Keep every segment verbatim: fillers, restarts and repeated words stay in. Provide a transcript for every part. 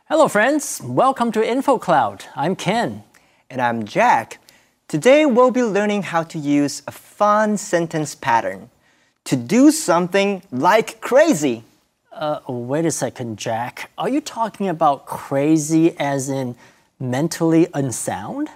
Hello, friends. Welcome to InfoCloud. I'm Ken. And I'm Jack. Today we'll be learning how to use a fun sentence pattern to do something like crazy. Uh, wait a second, Jack. Are you talking about crazy as in mentally unsound?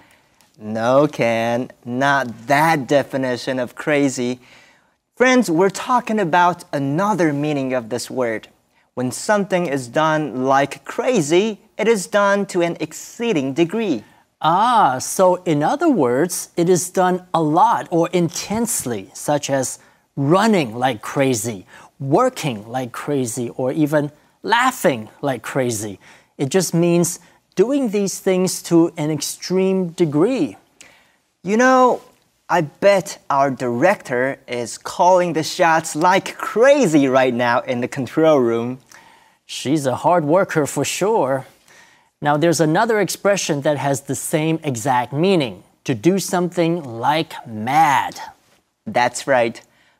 No, Ken, not that definition of crazy. Friends, we're talking about another meaning of this word. When something is done like crazy, it is done to an exceeding degree. Ah, so in other words, it is done a lot or intensely, such as running like crazy, working like crazy, or even laughing like crazy. It just means doing these things to an extreme degree. You know, I bet our director is calling the shots like crazy right now in the control room. She's a hard worker for sure. Now, there's another expression that has the same exact meaning, to do something like mad. That's right.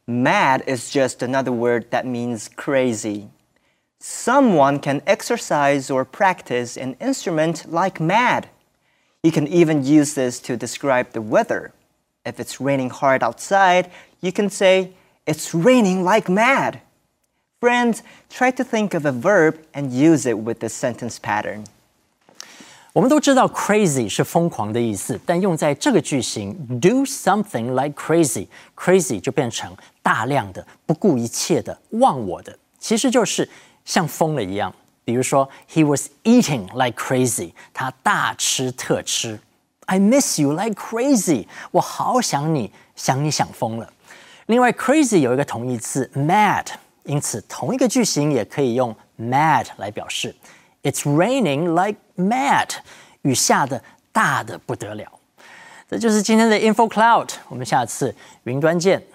Mad is just another word that means crazy. Someone can exercise or practice an instrument like mad. You can even use this to describe the weather. If it's raining hard outside, you can say, "It's raining like mad." Friends, try to think of a verb and use it with this sentence pattern. 我们都知道 crazy 是疯狂的意思，但用在这个句型 do something like crazy， crazy 就变成大量的、不顾一切的、忘我的，其实就是像疯了一样。比如说 he was eating like crazy， 他大吃特吃。I miss you like crazy， 我好想你，想你想疯了。另外 crazy 有一个同义词 mad， 因此同一个句型也可以用 mad 来表示。It's raining like mad， 雨下的大的不得了。这就是今天的 InfoCloud， 我们下次云端见。